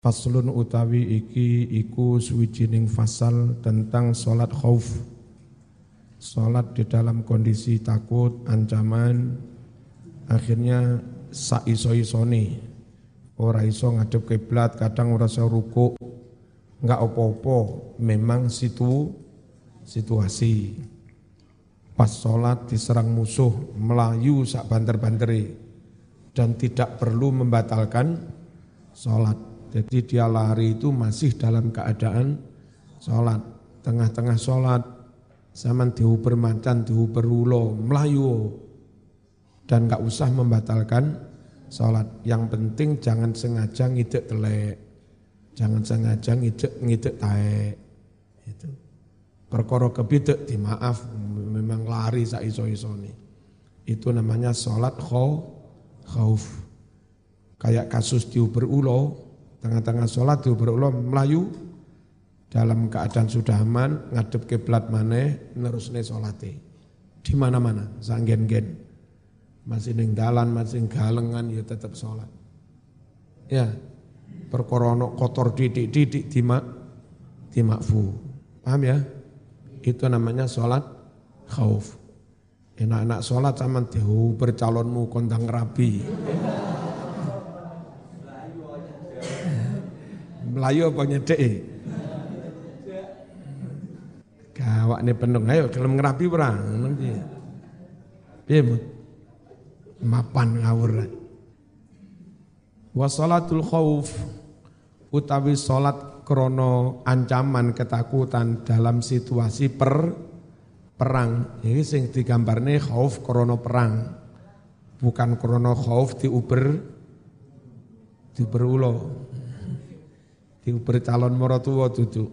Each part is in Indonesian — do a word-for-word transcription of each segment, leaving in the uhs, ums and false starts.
Faslun utawi iki iku suwijining fasal tentang sholat khauf. Sholat di dalam kondisi takut, ancaman, akhirnya saiso-isoni. Ora iso ngadep kiblat, kadang ora iso ruku, enggak opo-opo, memang situ situasi. Pas sholat diserang musuh, melayu sak banter-banteri dan tidak perlu membatalkan sholat. Jadi dia lari itu masih dalam keadaan sholat. Tengah-tengah sholat, zaman diuber macan, diuber ulo, melayu. Dan gak usah membatalkan sholat. Yang penting jangan sengaja ngidek telek. Jangan sengaja ngidek ngidek taek. Itu. Perkara kebidek dimaaf, memang lari saiso-isoni. Itu namanya sholat khauf. Kayak kasus diuber ulo, tengah-tengah sholat diuber ulo melayu, dalam keadaan sudah aman, ngadep kiblat maneh, nerusne sholate. Di mana-mana, sanggen-gen. Masih ning dalan, masih galengan, ya tetap sholat. Ya, perkara ono kotor didik-didik dimak, dimakfu. Paham ya? Itu namanya sholat khauf. Enak-enak sholat sama diuber calonmu kondang rabi. Melayu apa nyedek? Gawak nih penung, ayo gelem ngerapi perang. Piye mut? Mapan ngawur. Wa sholatul khauf utawi salat krana ancaman ketakutan dalam situasi per perang. Ini sing digambarne khauf krana perang. Bukan krana khauf diuber diberulo. Diuber calon maratuwa dudu.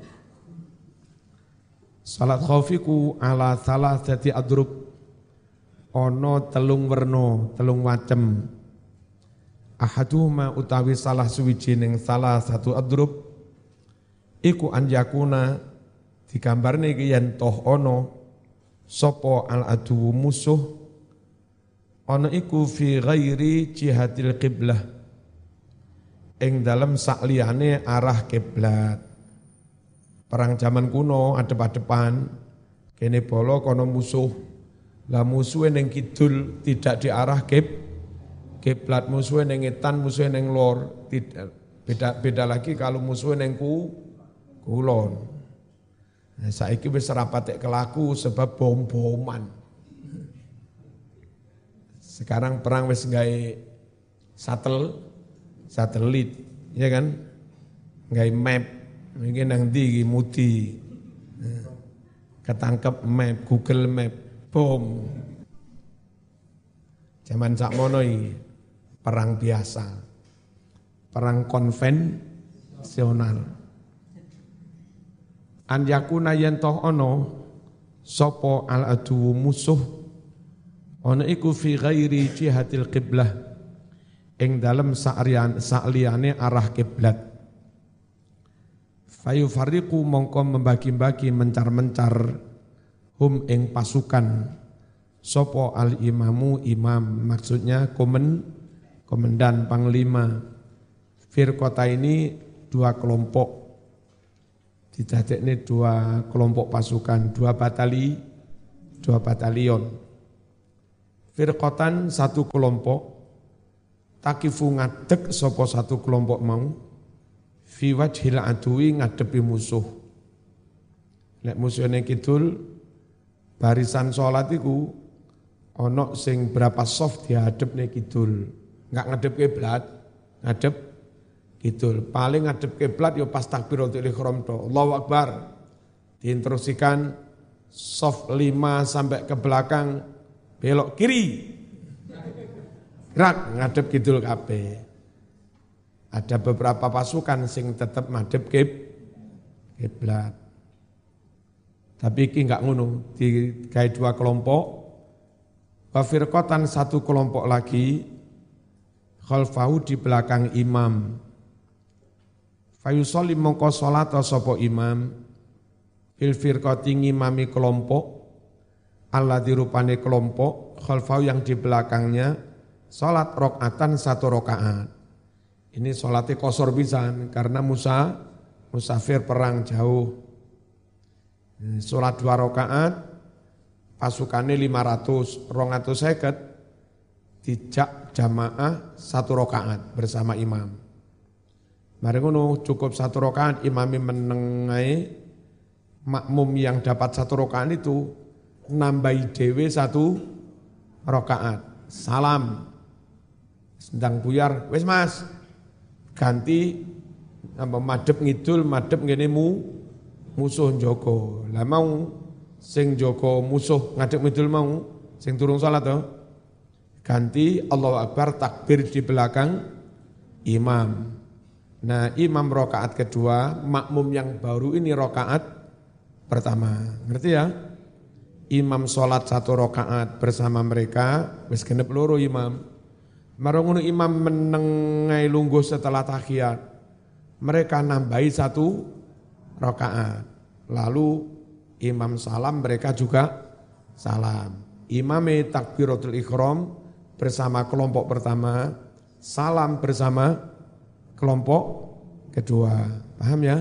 Salat khaufiku ala salasati adrub. Ana telung werna, telung macem. Ahaduhuma utawi salah suwijining salah satu adrub iku anjakuna digambarne iki yen toh ana sapa al adu musuh ana iku fi ghairi jihatil qiblah. Ing dalam sakliyane arah kiblat. Perang zaman kuno adep-adepan, kene bolo kono musuh. Lah musuhe ning kidul tidak diarah kib kiblat, musuhe ning ngetan, musuhe ning lor. Tidak beda beda lagi kalau musuhe ning ku kulon. Nah, saiki wis ora patek kelaku sebab bom-boman. Sekarang perang wis gawe satel satelit, ya kan? Nggak map, mungkin nang ndi mudi. Ketangkep map, Google Map, bom. Zaman sakmono iki perang biasa. Perang konvensional. An yakuna yen toh ana sapa al adu musuh ana iku fi ghairi jihatil qiblah. Ing dalam sa'rian sa'liyane arah kiblat. Fayu fariqu mongko membagi-bagi mencar-mencar hum ing pasukan sopo al imamu imam, maksudnya komen komandan panglima. Firqota ini dua kelompok, didadekne dua kelompok pasukan, dua batali, dua batalion. Firqotan satu kelompok, takifu ngadeg sapa satu kelompok mau fi wajhil aduwi ngadepi musuh. Lek musuh ning kidul barisan salat iku ana sing berapa soft dihadep ning kidul. Enggak ngadep kiblat, ngadep kidul. Paling ngadep kiblat ya pas takbiratul ihram to. Allahu Akbar. Diinstruksikan soft lima sampai ke belakang belok kiri. Gerak ngadep kidul kabeh. Ada beberapa pasukan sing tetap ngadep kib kiblat. Tapi iki enggak ngono, digawe dua kelompok. Wa firqatan satu kelompok lagi khalfahu di belakang imam. Fayusolli mongko salat sapa imam fil firqati ngimami kelompok alladzi rupane kelompok khalfahu yang di belakangnya salat rakaatan satu rakaat. Ini sholatnya kosor pisan karena Musa musafir perang jauh. Sholat dua rakaat, pasukannya lima ratus, rong atus seket, dijak jamaah satu rakaat bersama imam. Mari ngono cukup satu rakaat, imami menengai, makmum yang dapat satu rakaat itu nambahi dewe satu rakaat. Salam, sedang buyar, wes mas, ganti apa madhep ngidul, madhep ngene mu musuh njogo. Lah mau sing njogo musuh ngadhep ngidul mau sing turung salat to. Ganti Allahu Akbar takbir di belakang imam. Nah, imam rakaat kedua, makmum yang baru ini rakaat pertama. Ngerti ya? Imam sholat satu rakaat bersama mereka, wis genep loro imam. Marang imam menengai lungguh setelah tahiyat. Mereka nambahi satu rakaat. Lalu imam salam, mereka juga salam. Imame takbiratul ihram bersama kelompok pertama, salam bersama kelompok kedua. Paham ya?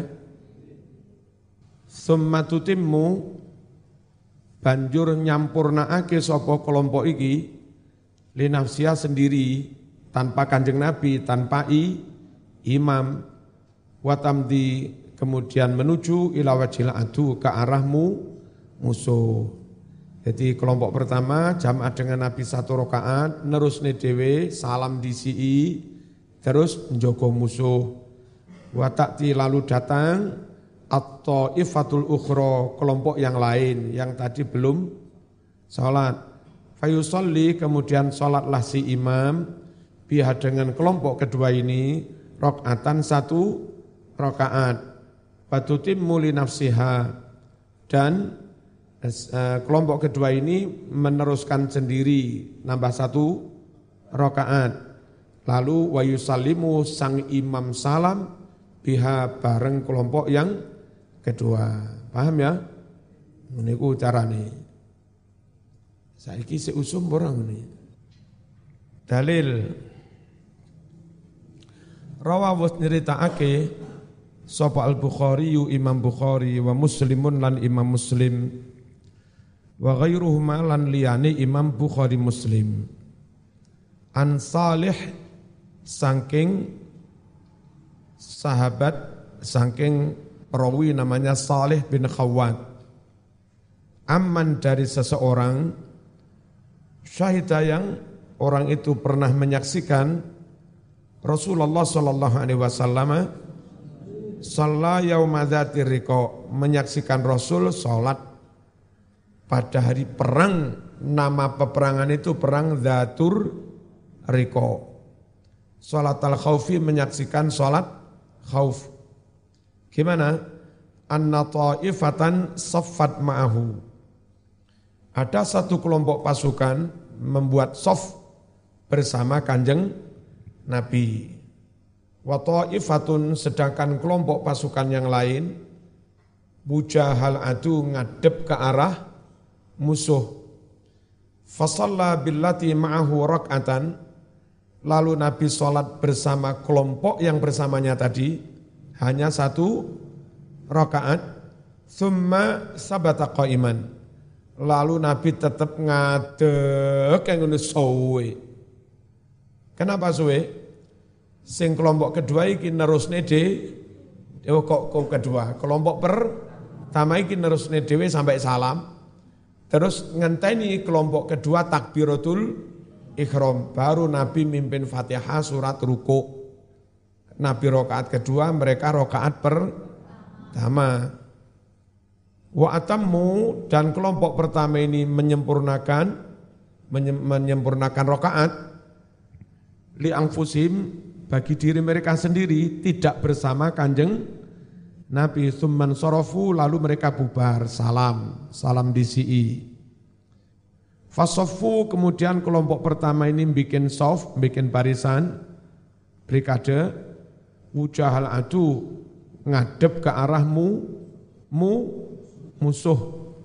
Summa tutimmu, banjur nyampurnaake sapa kelompok iki linafsia sendiri tanpa Kanjeng Nabi, tanpa i, imam, watamdi kemudian menuju ila wajhil adu ke arahmu musuh. Jadi kelompok pertama jamaah dengan Nabi satu rakaat, nerusne dhewe salam disi'i, terus njogo musuh. Wa ta'ti lalu datang at-taifatul ukhra, kelompok yang lain yang tadi belum salat. Fayusalli, kemudian salatlah si imam biha dengan kelompok kedua ini rakaatan satu rakaat. Fatutimmu li nafsiha, dan uh, kelompok kedua ini meneruskan sendiri nambah satu rakaat. Lalu wa yusallimu, sang imam salam biha bareng kelompok yang kedua. Paham ya? Niku carane. Saiki seusum orang ini. Dalil rawawus nyeritakake sapa al-Bukhari Imam Bukhari wa Muslimun lan Imam Muslim wa ghairuhuma lan liyane Imam Bukhari Muslim an Salih saking sahabat, saking perawi namanya Salih bin Khawwat, aman dari seseorang syahidah yang orang itu pernah menyaksikan Rasulullah sallallahu alaihi wasallam shalla yauma dzatir riqa, menyaksikan Rasul salat pada hari perang. Nama peperangan itu perang Dzatur Riqa. Salat al-khaufi, menyaksikan salat khauf. Gimana? Anna ta'ifatan saffat ma'ahu. Ada satu kelompok pasukan membuat saf bersama Kanjeng Nabi. Wa ta'ifatun, sedangkan kelompok pasukan yang lain bujahal adu, ngadep ke arah musuh. Fasalla billati ma'ahu rak'atan, lalu Nabi sholat bersama kelompok yang bersamanya tadi hanya satu rakaat. Thumma sabata qa'iman, lalu Nabi tetap ngadeg yang ngono suwe. Kenapa suwe? Sing kelompok kedua iki nerusne de oh, kok, kok kedua, kelompok pertama iki nerusne dhewe sampai salam. Terus ngenteni kelompok kedua takbiratul ihram, baru Nabi mimpin Fatihah surat ruku. Nabi rakaat kedua, mereka rakaat pertama. Wa atammu, dan kelompok pertama ini menyempurnakan menyempurnakan rakaat li anfusim, bagi diri mereka sendiri, tidak bersama Kanjeng Nabi. Tsumman sorofu, lalu mereka bubar, salam, salam disi'i. Fasoffu, kemudian kelompok pertama ini bikin sof, bikin barisan, brigade, wujahal adu, ngadep ke arahmu, mu, musuh.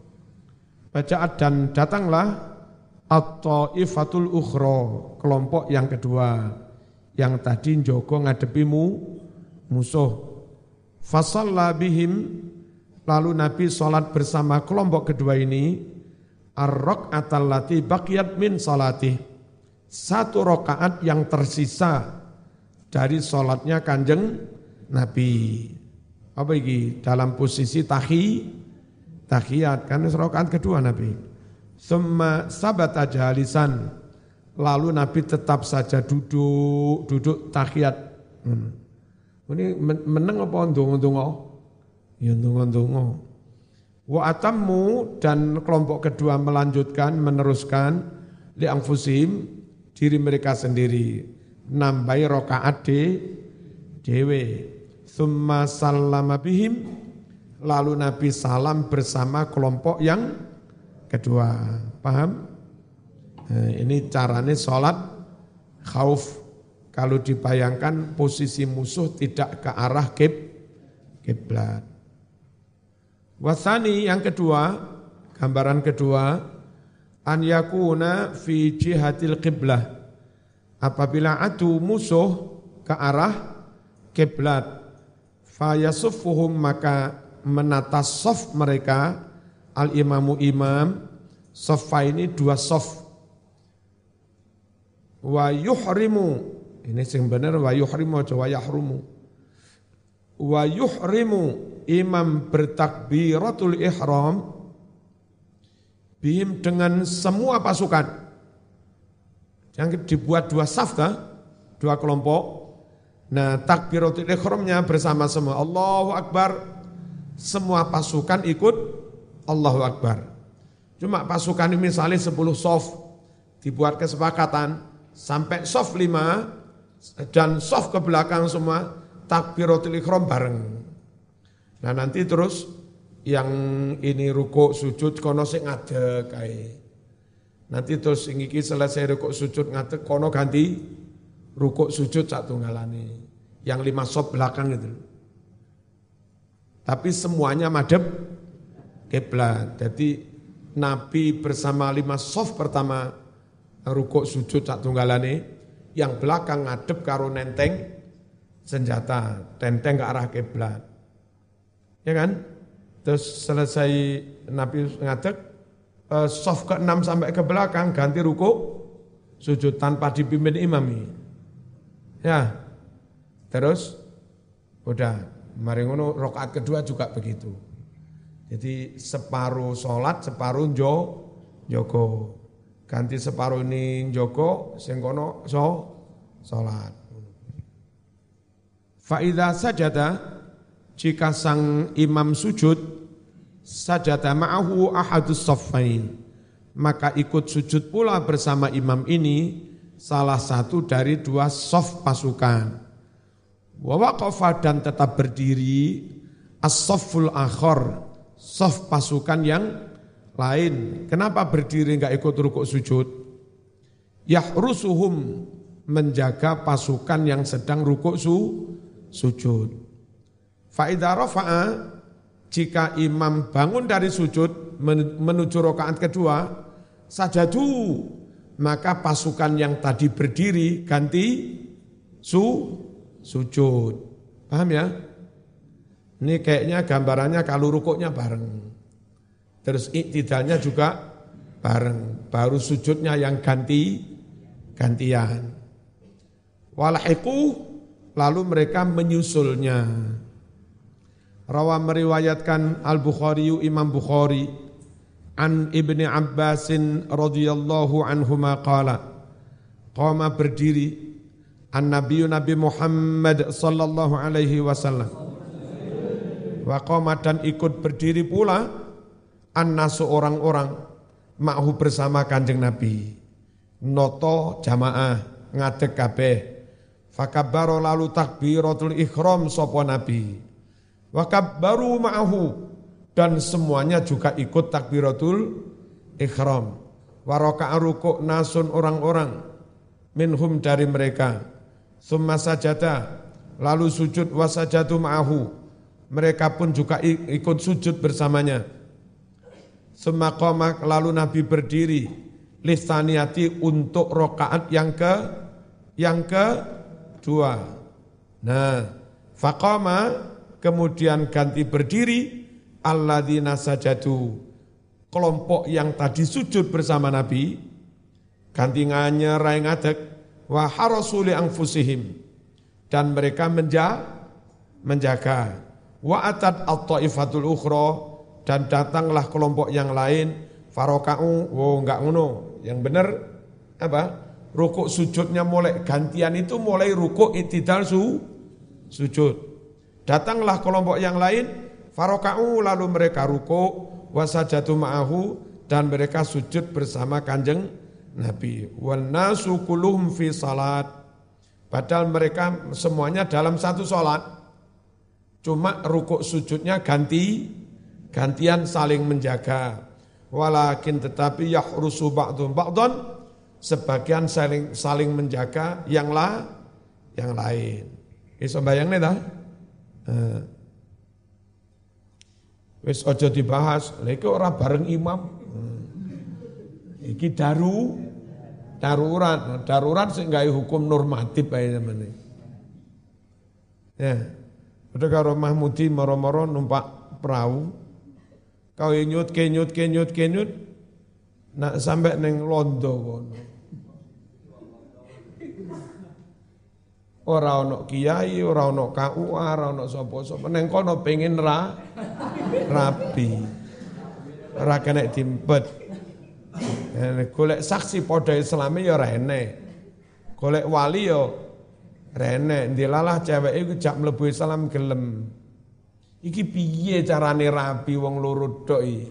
Bacaan dan datanglah at-ta'ifatul ukhra, kelompok yang kedua. yang tadi njogo ngadepimu musuh. Fasalla bihim, lalu Nabi sholat bersama kelompok kedua ini, ar-raka'atal lati baqiyat min salati, satu rakaat yang tersisa dari sholatnya Kanjeng Nabi. Apa ini? Dalam posisi tahi, tahiyat, kan rakaat kedua Nabi. Summa sabata jalisan, lalu Nabi tetap saja duduk, duduk tahiyat. Hmm. Ini meneng apa ndonga-ndonga? Ya ndonga-ndonga. Wa atammu, dan kelompok kedua melanjutkan, meneruskan li anfusihim, diri mereka sendiri, nambahi rakaat de dewe. Summa sallama bihim, lalu Nabi salam bersama kelompok yang kedua. Paham? Nah, ini caranya sholat khauf. Kalau dibayangkan posisi musuh tidak ke arah kib, kiblat. Wasani, yang kedua, gambaran kedua, an yakuna fi jihatil qiblah, apabila adu musuh ke arah kiblat, fayasuffuhum, maka menata sof mereka, al imamu imam, sofa ini dua sof, wa yuhrimu, ini yang benar wa yuhrimu aja wa yahrumu, wa yuhrimu, imam bertakbiratul ihram, bihim, dengan semua pasukan, yang dibuat dua saf kan, dua kelompok. Nah, takbiratul ihramnya bersama semua, Allahu Akbar, semua pasukan ikut Allahu Akbar. Cuma pasukan ini misalnya sepuluh sof, dibuat kesepakatan sampai sof lima dan sof ke belakang semua takbiratul ihram bareng. Nah nanti terus yang ini rukuk sujud kono sing ngadeg kae. Nanti terus sing iki selesai rukuk sujud ngadeg kono ganti rukuk sujud sak tunggalane. Yang lima sof belakang itu. Tapi semuanya madhep kiblat. Jadi Nabi bersama lima sof pertama rukuk sujud sak tunggalane, yang belakang ngadep karo nenteng senjata, tenteng ke arah kiblat. Ya kan? Terus selesai Nabi ngadeg, sof ke enam sampai ke belakang ganti rukuk sujud tanpa dipimpin imam. Ya. Terus udah, mari ngono rakaat kedua juga begitu. Jadi separuh sholat, separuh jo, joko. Ganti separuh ini joko, sing kono so, sholat. Fa'idha sajada, jika sang imam sujud, sajada ma'ahu ahadus saffain, maka ikut sujud pula bersama imam ini salah satu dari dua saf pasukan. Wa waqafa, dan tetap berdiri as-safful akhar, saf pasukan yang lain. Kenapa berdiri enggak ikut rukuk sujud? Yahrusuhum, menjaga pasukan yang sedang rukuk su, sujud. Fa idza rafa'a, jika imam bangun dari sujud menuju rakaat kedua, sajadu, maka pasukan yang tadi berdiri ganti su, sujud. Paham ya? Ini kayaknya gambarannya kalau rukuknya bareng. Terus iktidalnya juga bareng. Baru sujudnya yang ganti, gantian. Walahiku, lalu mereka menyusulnya. Rawa meriwayatkan Al-Bukhari, Imam Bukhari, an Ibni Abbasin radhiyallahu anhuma qala, qama berdiri, an-Nabi Nabi Muhammad sallallahu alaihi wasallam, wa qama, dan ikut berdiri pula an-nasu, orang-orang, ma'hu, bersama Kanjeng Nabi, noto jamaah ngadeg kabeh, fakabbaro, lalu takbiratul ihram sapa Nabi, wa kabbaru ma'hu, dan semuanya juga ikut takbiratul ihram, wa raka'a, rukuk nasun, orang-orang, minhum, dari mereka, summa sajada, lalu sujud, wa sajadu ma'hu, mereka pun juga ikut sujud bersamanya. Summa qama, lalu Nabi berdiri, lisaniyati, untuk rakaat yang ke yang ke dua. Nah, faqama kemudian ganti berdiri alladzina sajadu, kelompok yang tadi sujud bersama Nabi ganti nganyer rai ngadeg wa harasu li anfusihim, dan mereka menja, menjaga wa atat at-taifatul ukhra, dan datanglah kelompok yang lain faroka'u, oh enggak ngono, yang benar apa? Rukuk sujudnya mulai gantian itu mulai rukuk i'tidal su, sujud. Datanglah kelompok yang lain faroka'u, lalu mereka rukuk wasajatu ma'ahu, dan mereka sujud bersama Kanjeng Nabi. Wan nasu kulluhum fi salat, padahal mereka semuanya dalam satu salat. Cuma rukuk sujudnya ganti gantian saling menjaga. Walakin tetapi yahrusu ba'dhum ba'dhan, sebagian saling saling menjaga yang lah yang lain. Iso bayangne ta? Eh. Wis aja dibahas, lha iki ora bareng imam. Iki daru darurat, darurat sing gawe hukum normatif ae sampeyan. Ya. Padha karo Mahmudi moro-moro numpak perahu. Kau nyut kenyut kenyut kenyut nak sampai neng Londo kono. Ora ono kiai, ora ono K U A, ora ono sapa-sapa. Neng kono pengen ra rabi. Ora kena dimpet. Golek saksi padha Islame ya ora enek. Golek wali ya ora enek. Ndilalah ceweke iku jak mlebu Islam gelem. Iki piye carane rabi wong loro tok iki?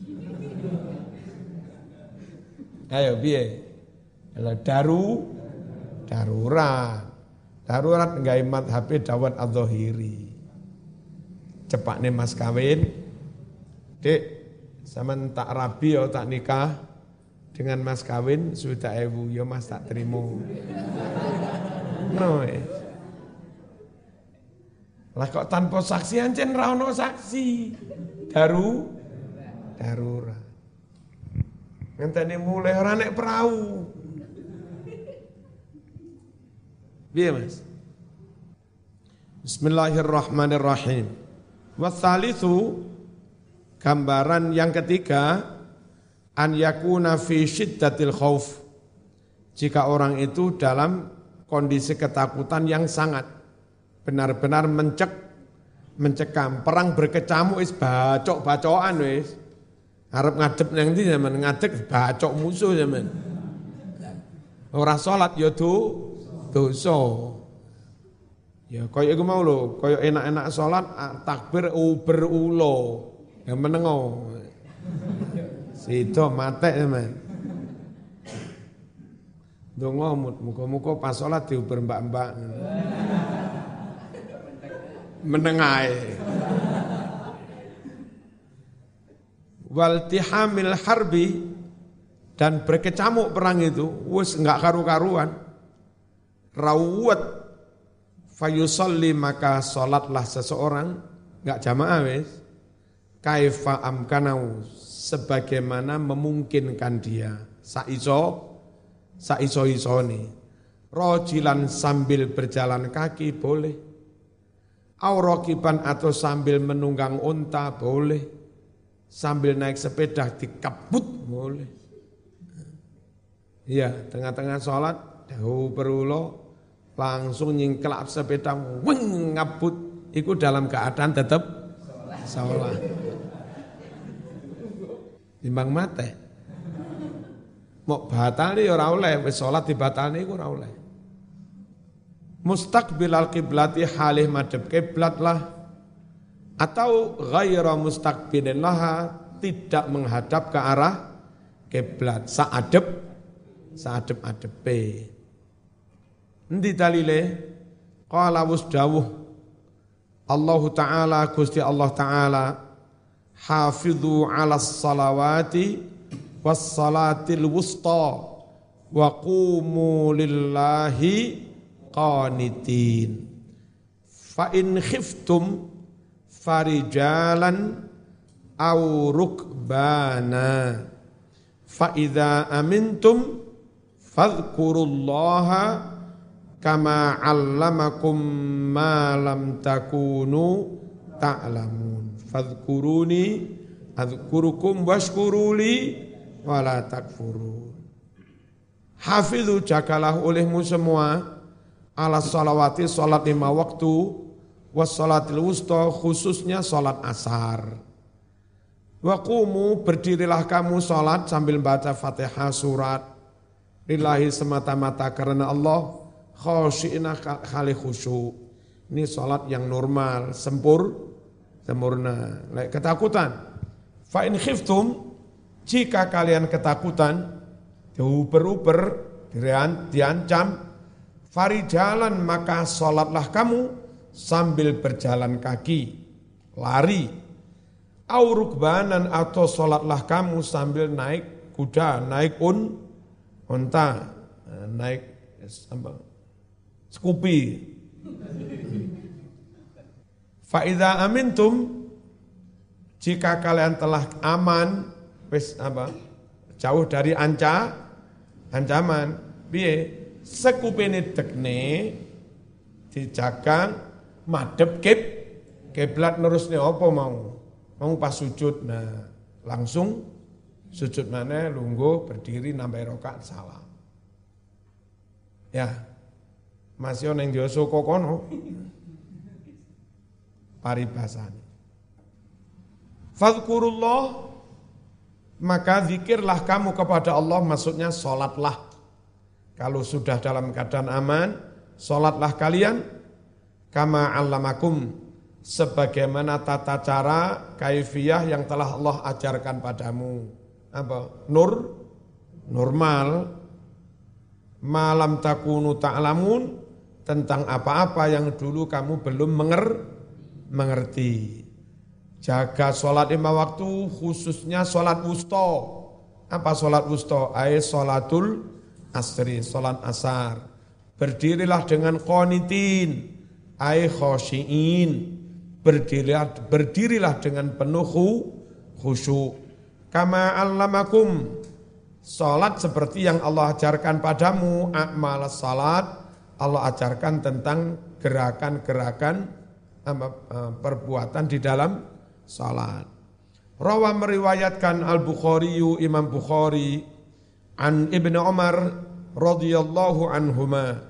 Ayo piye? Lah daru darurat. Darurat nggawe madhabe Dawud Adz-Dzahiri. Cepakne mas kawin. Dik, sampean tak rabi ya tak nikah dengan mas kawin sudah ewu ya mas tak terima. No. Lah kok tanpa saksi ancen ra ono saksi. Daru darurat. Ngenteni mulai ora nek perahu. Piye Mas? Bismillahirrahmanirrahim. Watsalitsu, gambaran yang ketiga, an yakuna fi syiddatil khauf. Jika orang itu dalam kondisi ketakutan yang sangat, benar-benar mencek, mencekam, perang berkecamuk wis bacok-bacokan wis. Arep ngadep nang ndi zaman ngadeg bacok musuh zaman. Ora salat ya do dosa. Ya kaya iku mau lho, kaya enak-enak salat takbir uber ulo. Ya menengo. Sido matek zaman. Donga muga-muga pas salat diuber mbak-mbak. Menengae. Waltihamil harbi, dan berkecamuk perang itu wis enggak karu-karuan. Rawat fayusalli, maka salatlah seseorang enggak jamaah wis kaifa amkanau, sebagaimana memungkinkan dia saiso saiso-isone. Rojilan, sambil berjalan kaki boleh, aurakiban atau sambil menunggang unta boleh, sambil naik sepeda dikabut boleh. Iya, tengah-tengah sholat, dahu berulo, langsung nyingkelap sepeda, weng ngabut, itu dalam keadaan tetap sholat. Timbang mate. Mau batali ora oleh, wis sholat dibatali iku ora oleh. Mustaqbilal qiblati, halih madhep kiblat lah, atau ghaira mustaqbilin laha, tidak menghadap ke arah kiblat, saadep saadep-adepe. Endi dalile? Qala wasdawuh Allah Ta'ala, Gusti Allah Ta'ala, hafidhu 'alas salawati was salatil wusta wa qumu lillahi qanitin. Fa in khiftum farijalan aw rukbana fa idza amintum fadhkurullaha kama 'allamakum ma lam takunu ta'lamun. Fadhkuruni adzkurukum washkuruli wala takfurun. Hafidhu, jagalah olehmu semua ala salawati, salat lima waktu, was salatil wusta, khususnya salat asar. Wa qumu, berdirilah kamu salat sambil baca Fatihah surat lillahi semata-mata karena Allah, khasyi'ina khali khusyuk. Ini salat yang normal, sempur, sempurna. Ketakutan. Fa in khiftum, jika kalian ketakutan, diuber-uber, diancam, farijalan, maka salatlah kamu sambil berjalan kaki, lari. Au rukbanan, atau salatlah kamu sambil naik kuda, naik un, unta, naik apa, skupi. Fa idza amintum, jika kalian telah aman, wis apa, jauh dari anca, ancaman, piye? Sekupene tekne dijaga madhep kib kiblat nerusne apa mau? Mau pas sujud, nah langsung sujud mana, lungguh, berdiri, nambah rakaat, salam. Ya, masih ono yang dioso kokono, paribasane. Fadhkurullah, maka zikirlah kamu kepada Allah, maksudnya sholatlah. Kalau sudah dalam keadaan aman, sholatlah kalian, kama 'allamakum, sebagaimana tata cara kaifiyah yang telah Allah ajarkan padamu. Apa? Nur, normal, malam takunu ta'lamun, tentang apa-apa yang dulu kamu belum menger, mengerti. Jaga sholat lima waktu, khususnya sholat wusta. Apa sholat wusta? Ay sholatul asri, sholat asar. Berdirilah dengan qanitin, ay khosyiin. Berdirilah, berdirilah dengan penuh khusyuk. Kama 'allamakum, salat seperti yang Allah ajarkan padamu. A'mal salat, Allah ajarkan tentang gerakan-gerakan perbuatan di dalam salat. Rawa meriwayatkan Al-Bukhari, Imam Bukhari, an Ibnu Umar radhiyallahu anhuma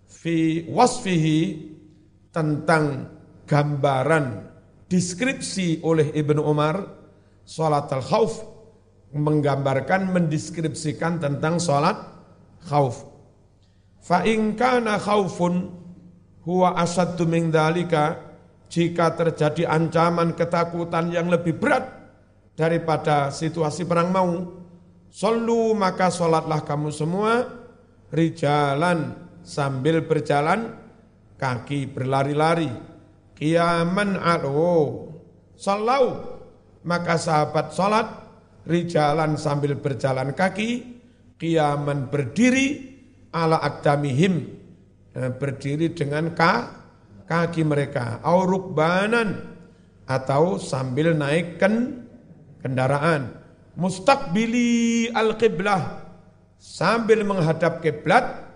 fi wasfihi, tentang gambaran, deskripsi oleh Ibnu Umar, salat al-khauf, menggambarkan, mendeskripsikan tentang salat khauf. Fa in kana khaufun huwa asaddu min dzalika, jika terjadi ancaman ketakutan yang lebih berat daripada situasi perang mau, sallu, maka salatlah kamu semua, rijalan, sambil berjalan kaki, berlari-lari, qiyaman alo, sallau, maka sahabat salat, rijalan sambil berjalan kaki, qiyaman berdiri, ala aqdamihim, berdiri dengan ka, kaki mereka, au rukbanan, atau sambil naik ken, kendaraan, mustaqbili al-qiblah, sambil menghadap kiblat,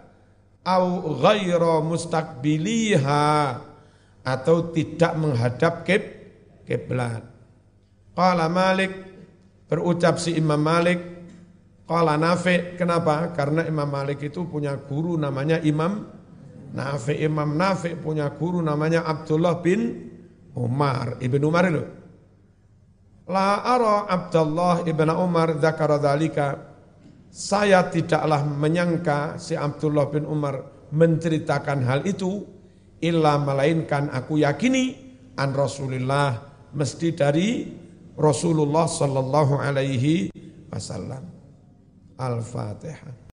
au ghaira mustaqbiliha, atau tidak menghadap kib, kiblat. Qala Malik, berucap si Imam Malik, qala Nafi', kenapa? Karena Imam Malik itu punya guru namanya Imam Nafi'. Imam Nafi' punya guru namanya Abdullah bin Umar, Ibn Umar itu. La ara Abdullah ibn Umar dzakara dzalika, saya tidaklah menyangka si Abdullah bin Umar menceritakan hal itu, illa melainkan aku yakini an Rasulillah, mesti dari Rasulullah sallallahu alaihi wasallam. Al-Fatihah.